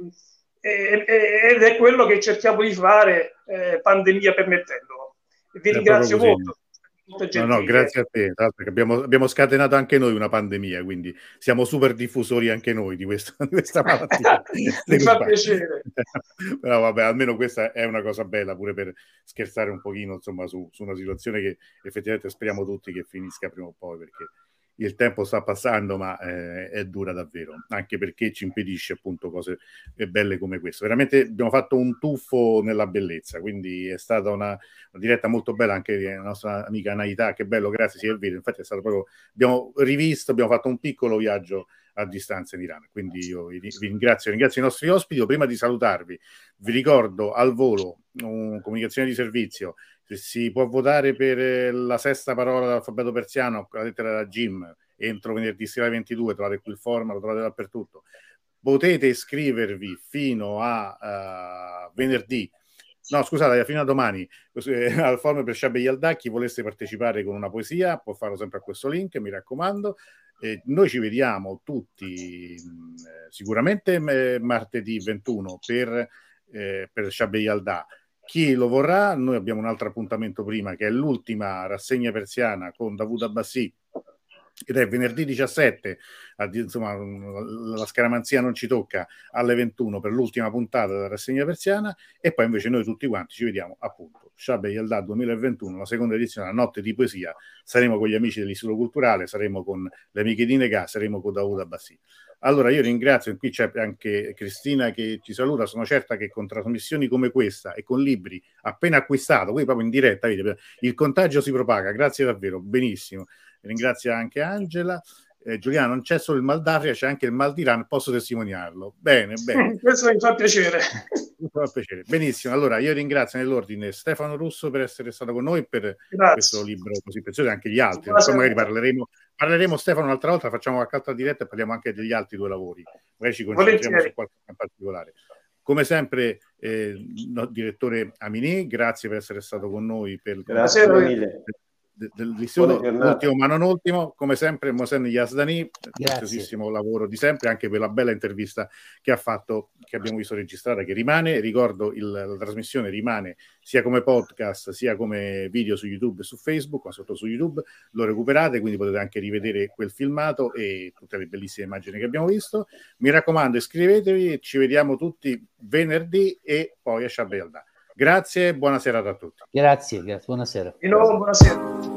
è quello che cerchiamo di fare, pandemia permettendo. Vi ringrazio molto. No, grazie a te, perché abbiamo scatenato anche noi una pandemia, quindi siamo super diffusori anche noi di questa malattia. Mi fa piacere. Però vabbè, almeno questa è una cosa bella, pure per scherzare un pochino, insomma, su una situazione che effettivamente speriamo tutti che finisca prima o poi, perché il tempo sta passando, ma è dura davvero, anche perché ci impedisce appunto cose belle come questo. Veramente abbiamo fatto un tuffo nella bellezza, quindi è stata una diretta molto bella anche la nostra amica Naità, che bello, grazie Silvia, infatti è stato proprio, abbiamo rivisto, abbiamo fatto un piccolo viaggio a distanza in Iran, quindi io vi ringrazio i nostri ospiti. Prima di salutarvi vi ricordo al volo comunicazione di servizio, se si può votare per la sesta parola dell'alfabeto persiano con la lettera da Jim entro venerdì sera 22, trovate qui il form, lo trovate dappertutto. Potete iscrivervi fino a venerdì, no scusate, fino a domani al forum per Shabbe Yalda. Chi volesse partecipare con una poesia può farlo sempre a questo link, mi raccomando. Noi ci vediamo tutti sicuramente martedì 21 per Shabbe Yalda. Chi lo vorrà, noi abbiamo un altro appuntamento prima, che è l'ultima rassegna persiana con Dawood Abbassi, ed è venerdì 17, insomma la scaramanzia non ci tocca, alle 21 per l'ultima puntata della rassegna persiana, e poi invece noi tutti quanti ci vediamo appunto Shabbe Yalda 2021, la seconda edizione, la notte di poesia. Saremo con gli amici dell'Istituto Culturale, saremo con le amiche di Negà, saremo con Dawood Abbassi. Allora io ringrazio, qui c'è anche Cristina che ci saluta, sono certa che con trasmissioni come questa e con libri appena acquistato, qui proprio in diretta, il contagio si propaga, grazie davvero, benissimo. Ringrazio anche Angela. Giuliano, non c'è solo il mal d'Africa, c'è anche il mal d'Iran, posso testimoniarlo. Bene. Questo mi fa piacere. Benissimo, allora io ringrazio nell'ordine Stefano Russo per essere stato con noi per questo libro così prezioso, e anche gli altri. Poi magari parleremo Stefano un'altra volta, facciamo qualche altra diretta e parliamo anche degli altri due lavori. Magari ci concentriamo su qualcosa in particolare. Come sempre, direttore Amini, grazie per essere stato con noi. Grazie mille. Dell'istituto, ultimo ma non ultimo, come sempre Mohsen Yazdani, preziosissimo lavoro di sempre, anche per la bella intervista che ha fatto, che abbiamo visto registrata, che rimane, ricordo la trasmissione rimane sia come podcast sia come video su YouTube e su Facebook, ma sotto su YouTube lo recuperate, quindi potete anche rivedere quel filmato e tutte le bellissime immagini che abbiamo visto. Mi raccomando, iscrivetevi e ci vediamo tutti venerdì e poi a Shabbe Yalda. Grazie, buona serata a tutti. Grazie, buonasera. Di nuovo, buonasera.